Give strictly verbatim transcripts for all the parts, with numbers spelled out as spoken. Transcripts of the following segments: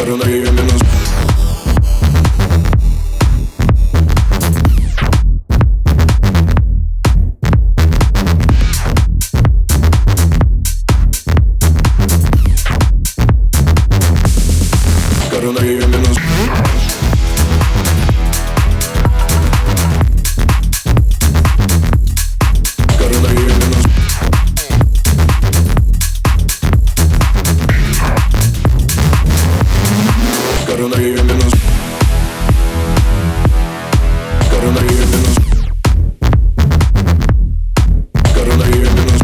Горю на ее минус. Горю на ее минус. Горю на ее минус. Горю на ее минус. Горю на ее минус. Горю на ее минус.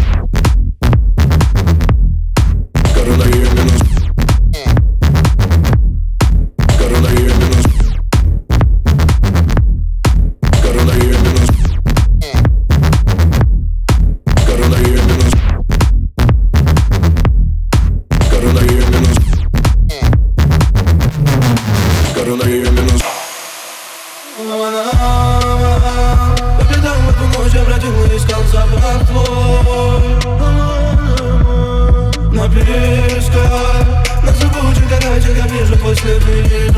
Горю на ее минус. Горю на ее минус. Горю на ее минус. Горю на ее минус. Горю на ее минус. Горю на ее минус. По пятам эту ночь я бродил и искал запах твой. На перисках, на зыбучих городах я вижу твой след.